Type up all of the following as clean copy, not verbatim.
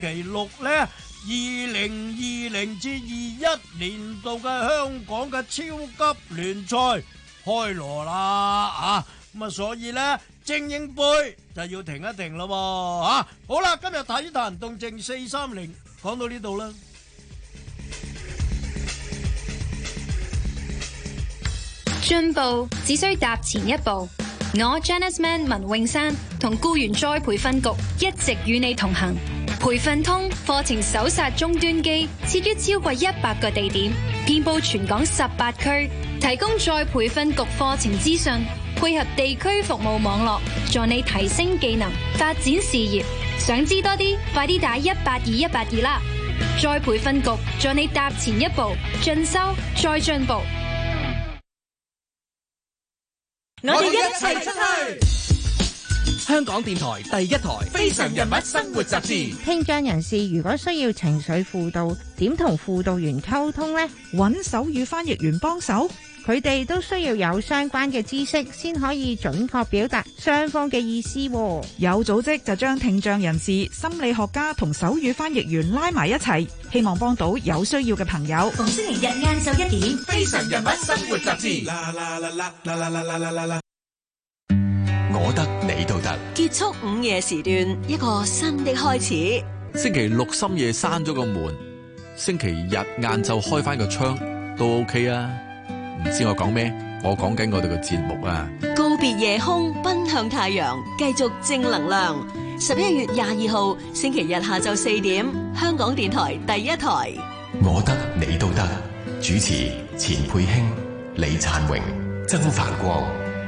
期六呢2020-21年度嘅香港嘅超級聯賽開鑼啦啊！咁啊，所以呢精英杯就要停一停咯喎啊！好啦，今日體壇動靜430講到呢度啦。 進步只需踏前一步。我 Janice Man 文詠珊同僱員再培訓局一直與你同行。培訓通課程搜殺終端機設於超過100個地點，遍佈全港18區，提供再培訓局課程資訊，配合地區服務網絡，助你提升技能，發展事業。想知多啲，快啲打182啦！再培訓局助你踏前一步，進修再進步。 我哋一齊出去。香港電台第一台《非常人物生活雜誌》。 聽障人士如果需要情緒輔導，點同輔導員溝通呢？ 揾手語翻譯員幫手。 佢哋都需要有相關嘅知識，先可以準確表達雙方嘅意思。 有組織就將聽障人士、心理學家同手語翻譯員拉埋一齊，希望幫到有需要嘅朋友。 逢星期日晏晝1點，《非常人物生活雜誌》。 我得你都得， 結束午夜時段，一個新的開始。 星期六深夜閂咗個門，星期日晏晝開翻個窗都 OK 啊！唔知我講咩？我講緊我哋個節目啊！ 告別夜空，奔向太陽，繼續正能量。11月22號星期日下晝4點，香港電台第一台。 我得你都得，主持錢佩卿、李燦榮、曾繁光。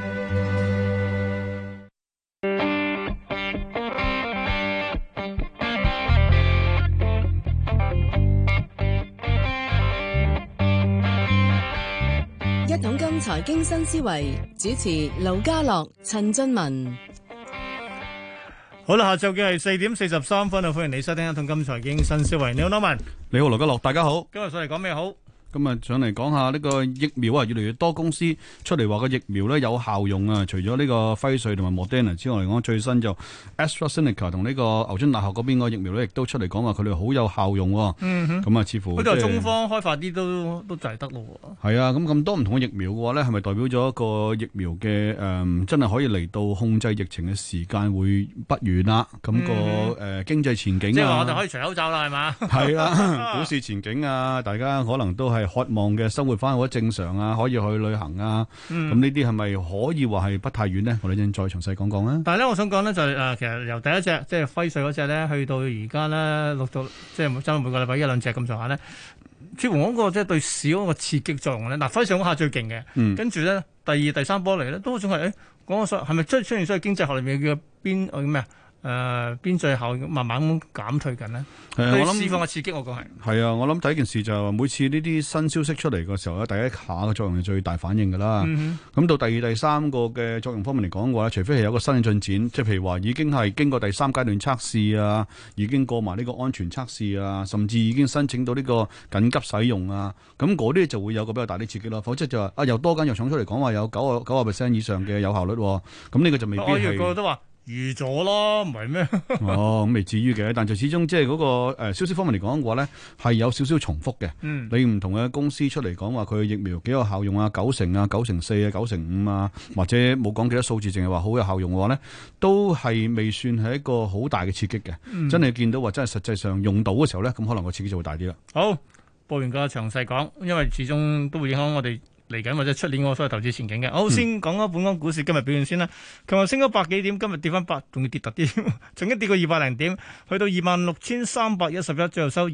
一桶金財經新思維，主持盧家樂、陳俊文。 好啦，下晝嘅係4點43分啊！歡迎你收聽一桶金財經新思維。你好，羅文。 你好，盧家樂，大家好。 今日上嚟講咩好？ 今日上嚟講下呢個疫苗啊，越嚟越多公司出嚟話個疫苗咧有效用啊。除咗呢個輝瑞同埋 Moderna 之外嚟講，最新就 AstraZeneca 同呢個牛津大學嗰邊個疫苗咧，亦都出嚟講話佢哋好有效用。咁啊，似乎嗰度中方開發啲都就係得咯。 係啊，咁多唔同嘅疫苗嘅話咧，係咪代表咗一個疫苗嘅真係可以嚟到控制疫情嘅時間會不遠啦？咁個經濟前景啊， 即係話我哋可以除口罩啦，係嘛？ 係啦，股市前景啊，大家可能都係渴望嘅生活翻好正常啊，可以去旅行啊，咁呢啲係咪可以話係不太遠呢？我哋陣再詳細講講啦。 但係咧，我想講呢，就係其實由第一隻即係輝瑞嗰隻咧，去到而家咧錄到即係真係每個禮拜1-2隻咁上下咧，似乎嗰個即係對市嗰個刺激作用咧。嗱，輝瑞嗰下最勁嘅，跟住咧第2、第3波嚟咧，都仲係講個係咪出現咗經濟學裏面嘅邊咩啊？邊際效應慢慢咁減退緊呢？對釋放嘅刺激，我講係啊！我諗第一件事就係每次呢啲新消息出嚟嘅時候咧，第一下嘅作用係最大反應㗎啦。咁到第2、第3個嘅作用方面嚟講嘅話，除非係有個新嘅進展，即係譬如話已經係經過第3階段測試啊，已經過埋呢個安全測試啊，甚至已經申請到呢個緊急使用啊，咁嗰啲就會有個比較大啲刺激咯。否則就話又多間藥廠出嚟講話有90% 以上嘅有效率，咁呢個就未必係。我以為個個都話預咗咯，唔係咩？ 咁未至於嘅，但就始終即係嗰個消息方面嚟講嘅話咧，係有少少重複嘅。你唔同嘅公司出嚟講話佢疫苗幾有效用啊，90%啊，94%啊，95%啊，或者冇講幾多數字，淨係話好有效用嘅話咧，都係未算係一個好大嘅刺激嘅。真係見到話真係實際上用到嘅時候咧，咁可能個刺激就會大啲啦。 好，報完個詳細講，因為始終都會影響我哋嚟緊或者出年我所謂投資前景嘅。好，先講咗本港股市今日表現先啦。琴日升咗100幾點，今日跌翻8，仲要跌突啲，曾經跌過200零點，去到26,311，最後收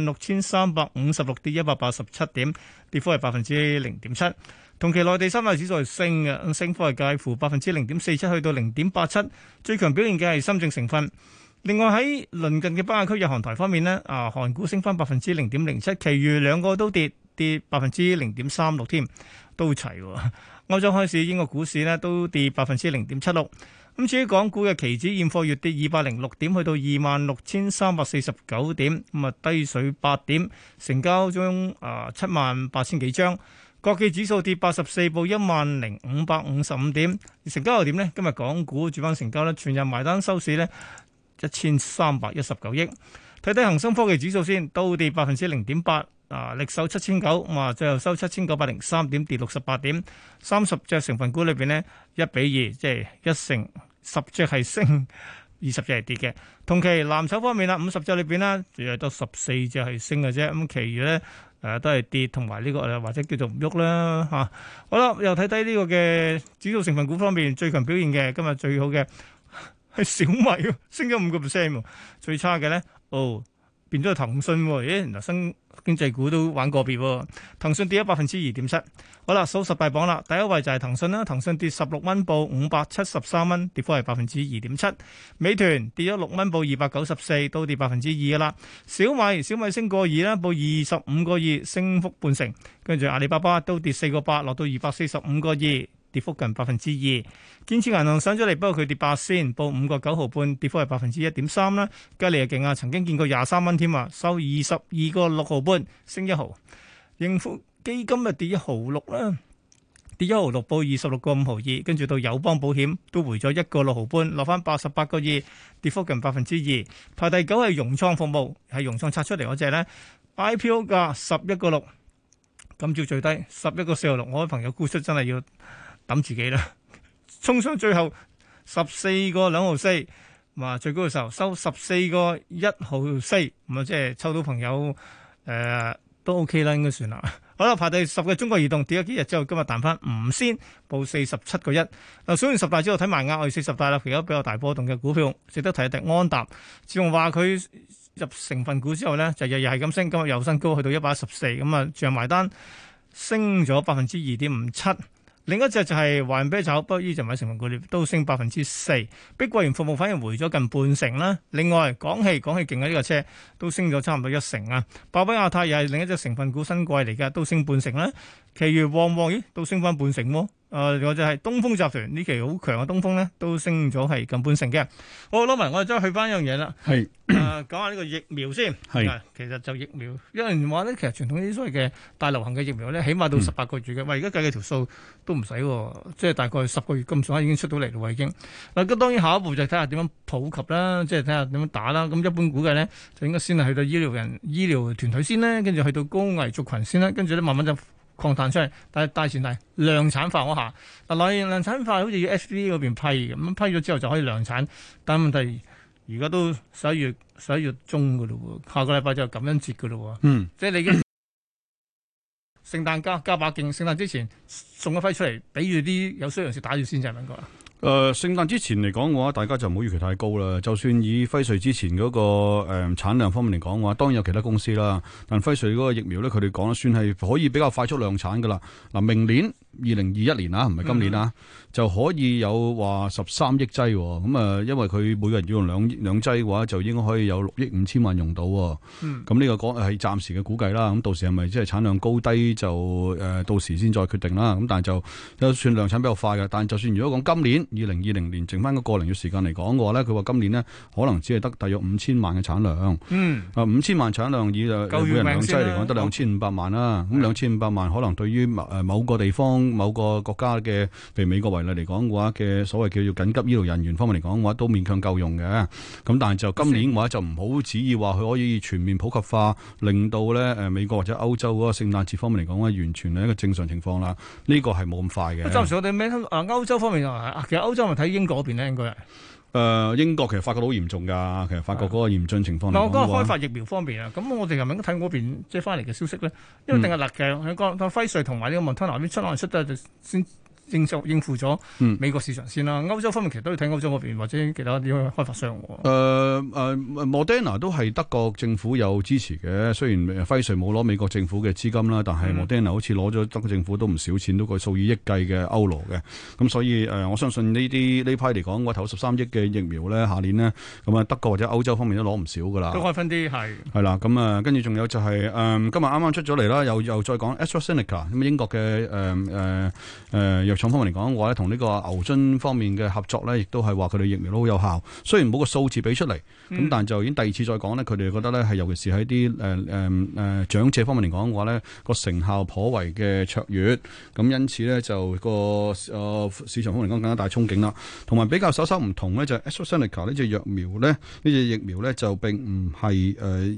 26,356，跌187點，跌幅係0.7%。同期內地三大指數係升嘅，升幅係介乎0.47%去到0.87%，最強表現嘅係深證成分。另外喺鄰近嘅北亞區日韓台方面呢，韓股升翻0.07%，其餘兩個都跌0.36%添，都齊喎。歐洲開市，英國股市呢都跌0.76%。咁至於港股嘅期指現貨月跌206點，去到26,349點，咁啊低水8點，成交中78,000幾張。國企指數跌84，報10,555點。成交又點呢？今日港股主板成交呢，全日埋單收市呢，1319億。 睇睇恒生科技指數先，都跌0.8%。力守7009，最後收7903點，跌68點。30隻成分股裏邊呢，1:2，即係1成10隻係升，20隻係跌嘅。同期藍籌方面啦，50隻裏邊呢，只係得14隻係升嘅啫。咁，其餘咧都係跌，同埋呢個或者叫做唔喐啦嚇。好啦，又睇睇呢個嘅指數成分股方面最強表現嘅，今日最好嘅係小米，升咗5%。最差嘅咧，變咗係騰訊喎。咦，嗱新經濟股都玩個別喎。騰訊跌咗2.7%。好啦，數十大榜啦，第一位就係騰訊啦。騰訊跌16蚊，報573蚊，跌幅係2.7%。美團跌咗6蚊，報294，都跌2%噶啦。小米升個2啦，報25個2，升幅半成。跟住阿里巴巴都跌4個8，落到245個2。跌幅近2%，建設銀行上咗嚟，不過佢跌8仙，報5個9毫半，跌幅係1.3%啦。吉利又勁啊，曾經見過23蚊添啊，收22個6毫半，升1毫。盈富基金啊跌1毫6啦，跌1毫6，報26個5毫2。跟住到友邦保險都回咗1個6毫半，落翻88個2，跌幅近2%。排第9係融創服務，係融創拆出嚟嗰隻咧 ，IPO 價11個6，今朝最低11個4毫6。我啲朋友沽出真係要抌自己啦，衝上最後14個2毫4，最高嘅時候收14個1毫4，咁即係抽到朋友都 OK 啦，應該算啦。好啦，排第10嘅中國移動跌咗幾日之後，今日彈翻5仙，報47個1。嗱，數完10大之後睇埋額外40大啦，其他比較大波動嘅股票，值得提一提安踏。自從話佢入成分股之後咧，就日日係咁升，今日又新高去到114，咁啊，賬埋單升咗2.57%。另一隻就係華潤啤酒，不過呢隻唔係成分股，都升4%。碧桂園服務反而回咗近半成啦。另外，廣汽勁啊，呢個車都升咗差唔多1成啊。百威亞太又係另一隻成分股新貴嚟嘅，都升半成啦。其餘旺都升翻半成喎。或者係東風集團呢期好強嘅東風咧，都升咗係近半成嘅。好，攞埋我哋再去翻一樣嘢啦。係講下呢個疫苗先。係其實就疫苗，有人話咧，其實傳統啲所謂嘅大流行嘅疫苗咧，起碼到18個月嘅。喂，而家計嘅條數都唔使喎，即係大概10個月咁上下已經出到嚟咯，已經。嗱，咁當然下一步就睇下點樣普及啦，即係睇下點樣打啦。咁一般估計咧，就應該先係去到醫療團隊先啦，跟住去到高危族群先啦，跟住咧慢慢就擴散出嚟，但係大前提量產化嗰下，嗱，量產化好似要 FDA 嗰邊批嘅，咁批咗之後就可以量產，但係問題而家都11月中嘅咯喎，下個禮拜就感恩節嘅咯喎，即係你已經聖誕加把勁，聖誕之前送一批出嚟，俾住啲有需要人士打住先，就係咁講啦。 聖誕之前嚟講嘅話，大家就唔好預期太高啦。就算以輝瑞之前嗰個產量方面嚟講嘅話，當然有其他公司啦。但輝瑞嗰個疫苗咧，佢哋講得算係可以比較快速量產噶啦。嗱，明年2021年啊，唔係今年啊，就可以有話13億劑。咁啊，因為佢每個人要用兩劑嘅話，就應該可以有6億5千萬用到。咁呢個講係暫時嘅估計啦。咁到時係咪即係產量高低就到時先再決定啦。咁但係就算量產比較快嘅。但就算如果講今年2020年剩翻個零月時間嚟講嘅話咧，佢話今年呢可能只係得大約5000萬嘅產量。5000萬產量以每人兩劑嚟講得2500萬啦。咁2500萬可能對於某個地方、某個國家嘅，譬如美國為例嚟講嘅話嘅所謂叫做緊急醫療人員方面嚟講嘅話，都勉強夠用嘅。咁但係就今年嘅話就唔好旨意話佢可以全面普及化，令到咧美國或者歐洲嗰個聖誕節方面嚟講咧，完全係一個正常情況啦。呢個係冇咁快嘅。 暫時我哋咩歐洲方面其實歐洲咪睇英國嗰邊咧，應該係。 英國其實法國都好嚴重㗎，其實法國嗰個嚴峻情況嚟講。 我講開發疫苗方面啊，咁我哋係咪應該睇嗰邊即係翻嚟嘅消息咧？因為定係辣嘅，佢講輝瑞同埋呢個莫德納啲出得就先應付咗美國市場先啦。歐洲方面其實都要睇歐洲嗰邊或者其他啲開發商。 莫德納都係德國政府有支持嘅，雖然輝瑞冇攞美國政府嘅資金啦，但係莫德納好似攞咗德國政府都唔少錢，都個數以億計嘅歐羅嘅。咁所以我相信呢批嚟講，我投13億嘅疫苗咧，下年呢，咁啊德國或者歐洲方面都攞唔少㗎啦。 都開分啲係啦，咁啊跟住仲有就係今日啱啱出咗嚟啦，又再講 AstraZeneca 咁英國嘅藥廠方面嚟講嘅話咧，同呢個牛津方面嘅合作咧，亦都係話佢哋疫苗都好有效。雖然冇個數字俾出嚟，咁但就已經第二次再講咧，佢哋覺得咧係尤其是喺啲長者方面嚟講嘅話咧，個成效頗為嘅卓越。咁因此咧就個市場方面嚟講更加大憧憬啦。同埋比較稍稍唔同咧，就係 AstraZeneca 呢隻疫苗咧，呢隻疫苗咧就並唔係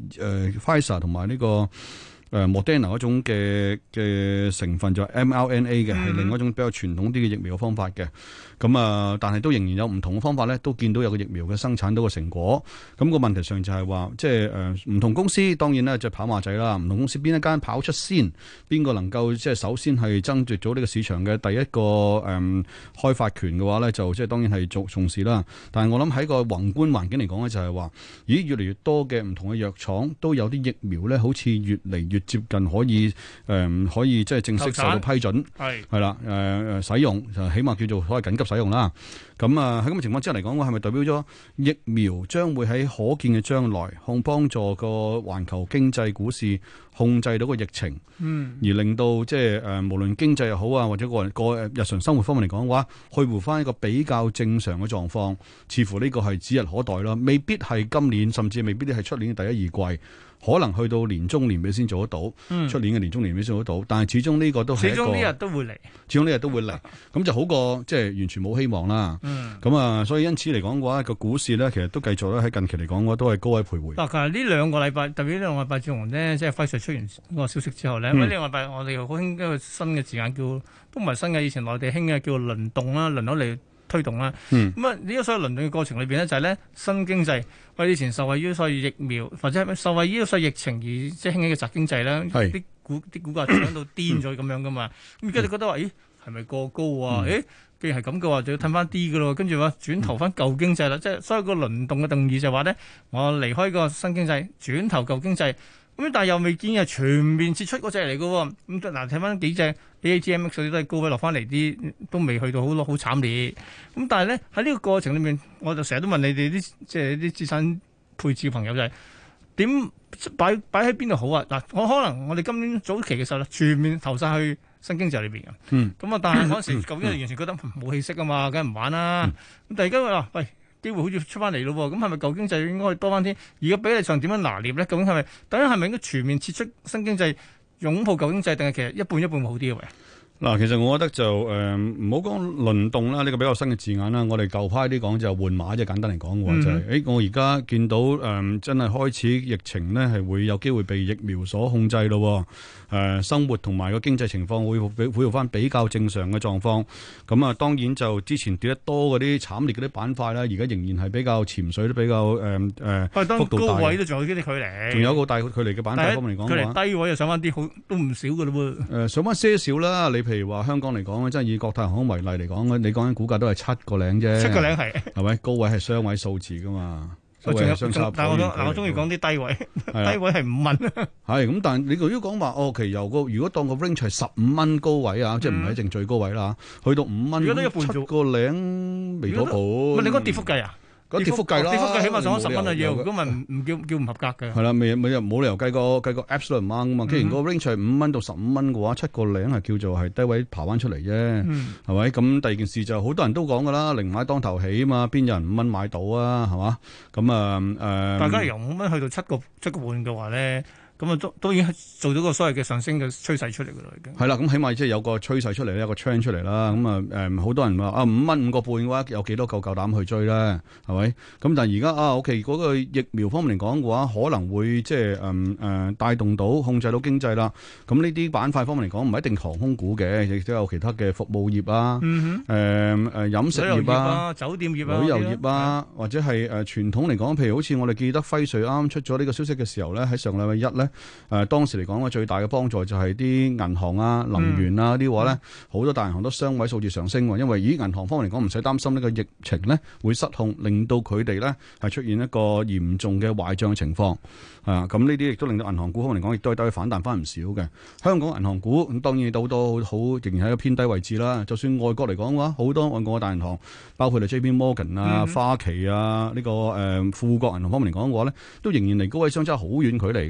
Pfizer 同埋呢個Moderna 嗰種嘅成分，就係 mRNA 嘅，係另外一種比較傳統啲嘅疫苗嘅方法嘅。咁但係都仍然有唔同嘅方法咧，都見到有個疫苗嘅生產到個成果。咁個問題上就係話，即係唔同公司當然咧就跑馬仔啦。唔同公司邊一間跑出先，邊個能夠即係首先係爭奪咗呢個市場嘅第一個開發權嘅話咧，就即係當然係重視啦。但係我諗喺個宏觀環境嚟講咧，就係話，咦，越嚟越多嘅唔同嘅藥廠都有啲疫苗咧，好似越嚟越接近可以即係正式受到批准，係啦使用，就起碼叫做所謂緊急使用啦。咁喺咁嘅情況之下嚟講，我係咪代表咗疫苗將會喺可見嘅將來幫助個環球經濟股市控制到個疫情，而令到即係無論經濟又好啊，或者個日常生活方面嚟講嘅話，去回翻一個比較正常嘅狀況，似乎呢個係指日可待啦。未必係今年，甚至未必係出年嘅第一二季。可能去到年中年尾先做得到，出年嘅年中年尾先做得到，但係始終呢個都係一個， 始終呢日都會嚟， 始終呢日都會嚟，咁就好過即係完全冇希望啦。咁所以因此嚟講嘅話，個股市咧其實都繼續咧喺近期嚟講嘅話都係高位徘徊。 嗱，其實呢兩個禮拜，特別呢兩個禮拜之後咧，即係輝瑞出完嗰個消息之後咧，呢兩個禮拜我哋又好興一個新嘅字眼叫，都唔係新嘅，以前內地興嘅叫輪動啦，輪流嚟推動啦。咁啊呢個所謂輪動嘅過程裏邊咧，就係咧新經濟。我以前受惠於所謂疫苗，或者受惠於所謂疫情而即係興起嘅宅經濟啦，啲股價漲到癲咗咁樣噶嘛。咁而家你覺得話，咦係咪過高啊？既然係咁嘅話，就要褪翻啲噶咯。跟住話轉投翻舊經濟啦，即係所有個輪動嘅定義就係話咧，我離開個新經濟，轉投舊經濟。咁但係又未見係全面撤出嗰隻嚟嘅喎。咁嗱睇翻幾隻 ATMX 嗰啲都係高位落翻嚟啲，都未去到好慘烈。咁但係咧喺呢個過程裏面，我就成日都問你哋啲即係啲資產配置嘅朋友就係點擺喺邊度好啊？嗱，可能我哋今年早期嘅時候咧，全面投晒去新經濟裏邊嘅。咁但係嗰陣時究竟係完全覺得冇氣息啊嘛，梗係唔玩啦。咁但係而家話喂，機會好似出翻嚟咯喎，咁係咪舊經濟應該多翻啲？而家比例上點樣拿捏咧？究竟係咪？等陣係咪應該全面撤出新經濟，擁抱舊經濟，定係其實一半一半會好啲嘅？ 嗱，其實我覺得就唔好講輪動啦，呢個比較新嘅字眼啦。我哋舊派啲講就換馬，即係簡單嚟講嘅話就係，我而家見到真係開始疫情呢係會有機會被疫苗所控制咯。生活同埋個經濟情況會恢復翻比較正常嘅狀況。咁啊，當然就之前跌得多嗰啲慘烈嗰啲板塊啦，而家仍然係比較潛水都比較幅度大。高位都仲有啲距離，仲有一個大距離嘅板塊方面嚟講嘅話， 低位又上翻啲，好都唔少嘅咯喎。 上翻些少啦，你譬如話香港嚟講，真係以國泰航空為例嚟講，你講緊股價都係7個零啫，7個零係咪高位係雙位數字噶嘛？ 但係我中意講啲低位，低位係5蚊。 係咁，但係你如果講話其實如果當個 range 係15蚊高位啊，即係唔係一定最高位啦，去到5蚊，7個零未到半。 你講跌幅計啊？ 跌幅計啦， 跌幅計起碼上咗10蚊啊要，如果咪唔叫唔合格嘅。 係啦，冇理由計個 absolute amount 噶嘛。既然個 range 係5蚊到15蚊嘅話，7個零係叫做係低位爬翻出嚟啫，係咪？咁第二件事就好多人都講噶啦，寧買當頭起啊嘛，邊有人5蚊買到啊？係嘛？咁大家由5蚊去到7個半嘅話咧。咁啊，都已經做到個所謂嘅上升嘅趨勢出嚟㗎啦，已經係啦。咁起碼即係有個趨勢出嚟，有個 trend 出嚟啦。咁好多人話5蚊5個半嘅話，有幾多夠膽去追咧？係咪？咁但係而家OK 嗰個疫苗方面嚟講嘅話，可能會即係帶動到控制到經濟啦。咁呢啲板塊方面嚟講，唔係一定航空股嘅，亦都有其他嘅服務業啊，飲食業啊、 酒店業啊、 旅遊業啊，或者係傳統嚟講，譬如好似我哋記得輝瑞啱啱出咗呢個消息嘅時候咧，喺上禮拜一咧。當時嚟講最大嘅幫助就係啲銀行啊、能源啊啲話咧，好多大銀行都雙位數字上升喎。因為銀行方面嚟講唔使擔心呢個疫情咧會失控，令到佢哋咧係出現一個嚴重嘅壞帳情況。咁呢啲亦都令到銀行股方面嚟講，亦都係得以反彈翻唔少嘅。香港銀行股咁當然都好多好仍然喺一個偏低位置啦。就算外國嚟講嘅話，好多外國嘅大銀行，包括JP Morgan 啊、花旗啊呢個富國銀行方面嚟講嘅話咧，都仍然離高位相差好遠距離嘅喎。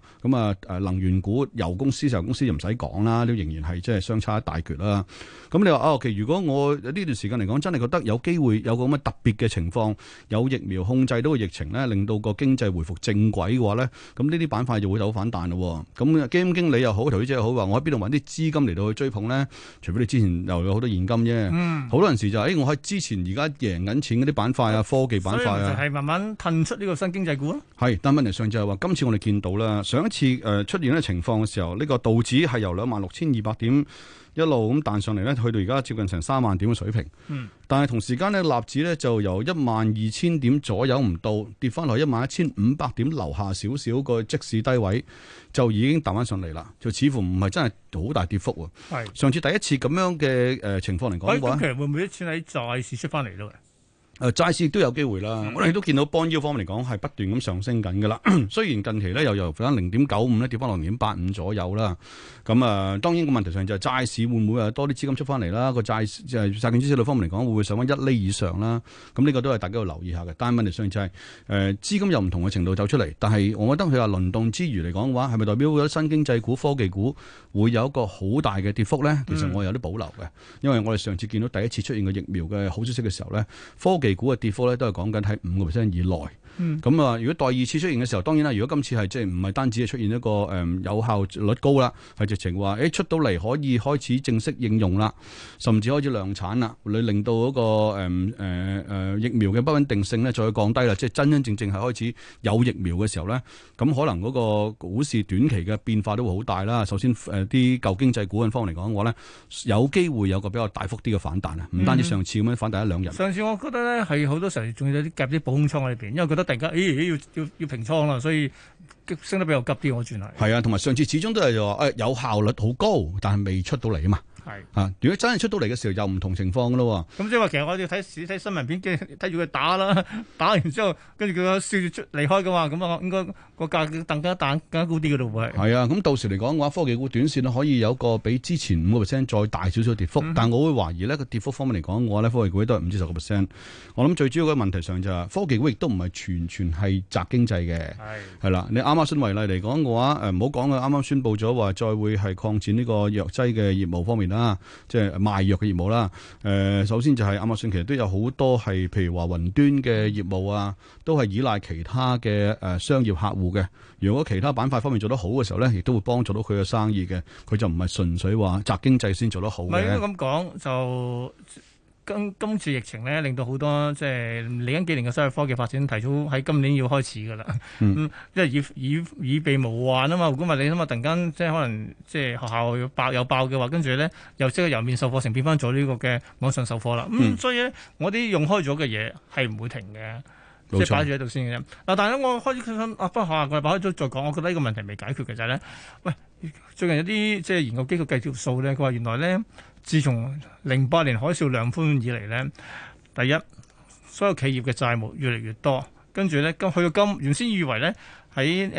能源股、油公司、石油公司就唔使講啦，都仍然係即係相差一大橛啦。咁你話其實如果我呢段時間嚟講，真係覺得有機會有個咁嘅特別嘅情況，有疫苗控制到個疫情咧，令到個經濟回復正軌嘅話咧，咁呢啲板塊就會有反彈咯。咁基金經理又好，投資者又好，話我喺邊度揾啲資金嚟到去追捧咧？除非你之前又有好多現金啫。好多陣時就我喺之前而家贏緊錢嗰啲板塊啊，科技板塊啊， 就係慢慢褪出呢個新經濟股咯。 係，但問題上就係話，今次我哋見到啦，上一次出現呢個情況嘅時候，呢個道指係由26,200點一路咁彈上嚟咧，去到而家接近成3萬點嘅水平。但係同時間咧，納指咧就由12,000點左右唔到，跌翻落11,500點樓下少少個即市低位，就已經彈翻上嚟啦。就似乎唔係真係好大跌幅喎。上次第一次咁樣嘅情況嚟講嘅話， 咁其實會唔會一次喺債市出翻嚟咯？ 債市亦都有機會啦，我哋都見到 bond yield 方面嚟講係不斷咁上升緊㗎啦。雖然近期咧又由翻0.95咧跌翻落0.85左右啦。咁當然個問題上就係債市會唔會有多啲資金出翻嚟啦？個債券孳息率方面嚟講會唔會上翻1厘以上啦？咁呢個都係大家要留意下嘅。但係問題上就係資金有唔同嘅程度走出嚟，但係我覺得佢話輪動之餘嚟講嘅話，係咪代表咗新經濟股、科技股會有一個好大嘅跌幅咧？其實我有啲保留嘅，因為我哋上次見到第一次出現個疫苗嘅好消息嘅時候咧，科技股嘅跌幅咧都係講緊喺5% 以內。咁如果第二次出現嘅時候，當然啦，如果今次係即係唔係單止係出現一個有效率高啦，係直情話出到嚟可以開始正式應用啦，甚至開始量產啦，你令到嗰個疫苗嘅不穩定性咧再降低啦，即係真正係開始有疫苗嘅時候咧，咁可能嗰個股市短期嘅變化都會好大啦。首先啲舊經濟股份方面嚟講嘅話咧，有機會有個比較大幅啲嘅反彈啊，唔單止上次咁樣反彈1-2日。 上次我覺得咧係好多時候仲有啲夾啲保空倉喺裏邊，因為覺得突然間要平倉啦，所以升得比較急啲。我轉係係啊，同埋上次始終都係就話有效率好高，但係未出到嚟啊嘛。係如果真係出到嚟嘅時候，又唔同情況噶咯。 咁即係話，其實我哋睇新聞片，睇住佢打啦，打完之後，跟住佢笑住出離開嘅話，咁啊，應該個價更加高啲嘅咯喎。係啊，咁到時嚟講嘅話，科技股短線可以有個比之前5% 再大少少跌幅，但我會懷疑呢個跌幅方面嚟講嘅話咧，科技股都係5至10%。我諗最主要嘅問題上就係科技股亦都唔係全係宅經濟嘅。係啦，你亞馬遜為例嚟講嘅話，唔好講啊，啱啱宣布咗話再會係擴展呢個藥劑嘅業務方面啦。即係賣藥嘅業務啦。首先就係亞馬遜其實都有好多係，譬如話雲端嘅業務啊，都係依賴其他嘅商業客戶嘅。如果其他板塊方面做得好嘅時候咧，亦都會幫助到佢嘅生意嘅。佢就唔係純粹話宅經濟先做得好嘅。 唔係咁講就。今次疫情咧，令到好多即係嚟緊幾年嘅商業科技發展提早喺今年要開始㗎啦。因為以備無患啊嘛。如果唔係你諗下，突然間即係可能即係學校有爆嘅話，跟住咧又即係由面授課程變翻咗呢個嘅網上授課啦。所以咧，我啲用開咗嘅嘢係唔會停嘅，即係擺住喺度先嘅啫。嗱，但係咧，我開始不過下個禮拜開咗再講，我覺得呢個問題未解決嘅就係咧，喂，最近有啲即係研究機構計條數咧，佢話原來咧。自從08年海嘯量寬以嚟咧，第一所有企業嘅債務越嚟越多，跟住咧去到原先以為咧喺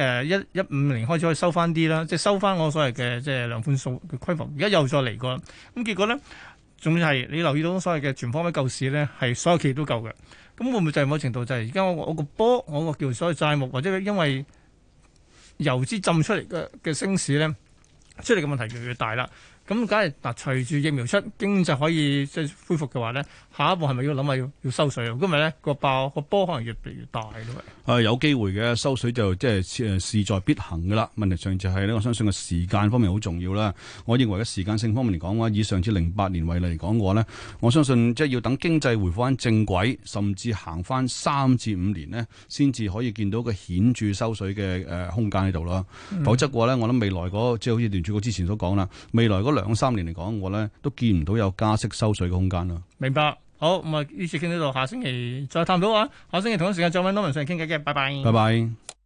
15年開始可以收翻啲啦，即係收翻我所謂嘅即係量寬數嘅規模，而家又再嚟過，咁結果咧仲要係你留意到所謂嘅全方位救市咧，係所有企業都夠嘅，咁會唔會就係某程度就係而家我個波我個叫所謂債務或者因為油資浸出嚟嘅升市咧，出嚟嘅問題越嚟越大啦。咁梗係嗱，隨住疫苗出，經濟可以即係恢復嘅話咧，下一步係咪要諗下要收水啊？咁咪咧個波可能越嚟越大咯。 有機會嘅收水就即係勢在必行噶啦。問題上就係咧，我相信個時間方面好重要啦。我認為嘅時間性方面嚟講嘅話，以上次08年為例嚟講嘅話咧，我相信即係要等經濟回復翻正軌，甚至行翻3至5年呢，先至可以見到個顯著收水嘅空間喺度咯。否則嘅話咧，我諗未來即係好似聯儲局之前所講啦，未來2-3年嚟講，我咧都見唔到有加息收水嘅空間咯。 明白，好咁啊！呢次傾到呢度，下星期再探討啊！下星期同一時間再揾Norman上嚟傾偈嘅，拜拜。 拜拜。